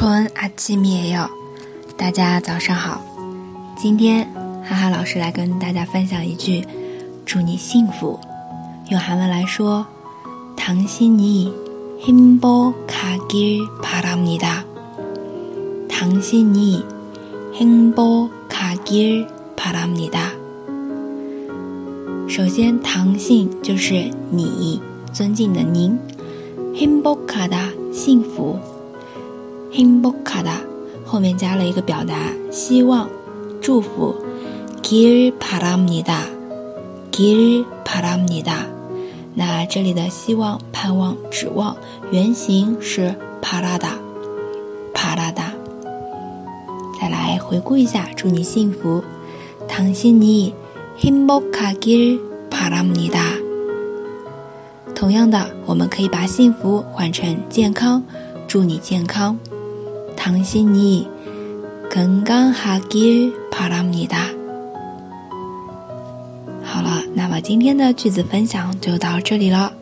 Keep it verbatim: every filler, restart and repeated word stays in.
좋은 아침이에요，大家早上好。今天哈哈老师来跟大家分享一句祝你幸福，用韩文来说，당신이 행복하길 바랍니다。당신이 행복하길 바랍니다。首先，당신就是你，尊敬的您。행복하다幸福。행복하다后面加了一个表达希望祝福길 바랍니다 길 바랍니다。那这里的希望盼望指望原型是바라다 바라다。再来回顾一下祝你幸福，당신이 행복하길 바랍니다。同样的，我们可以把幸福换成健康，祝你健康，당신이 건강하길 바랍니다。好了，那么今天的句子分享就到这里了。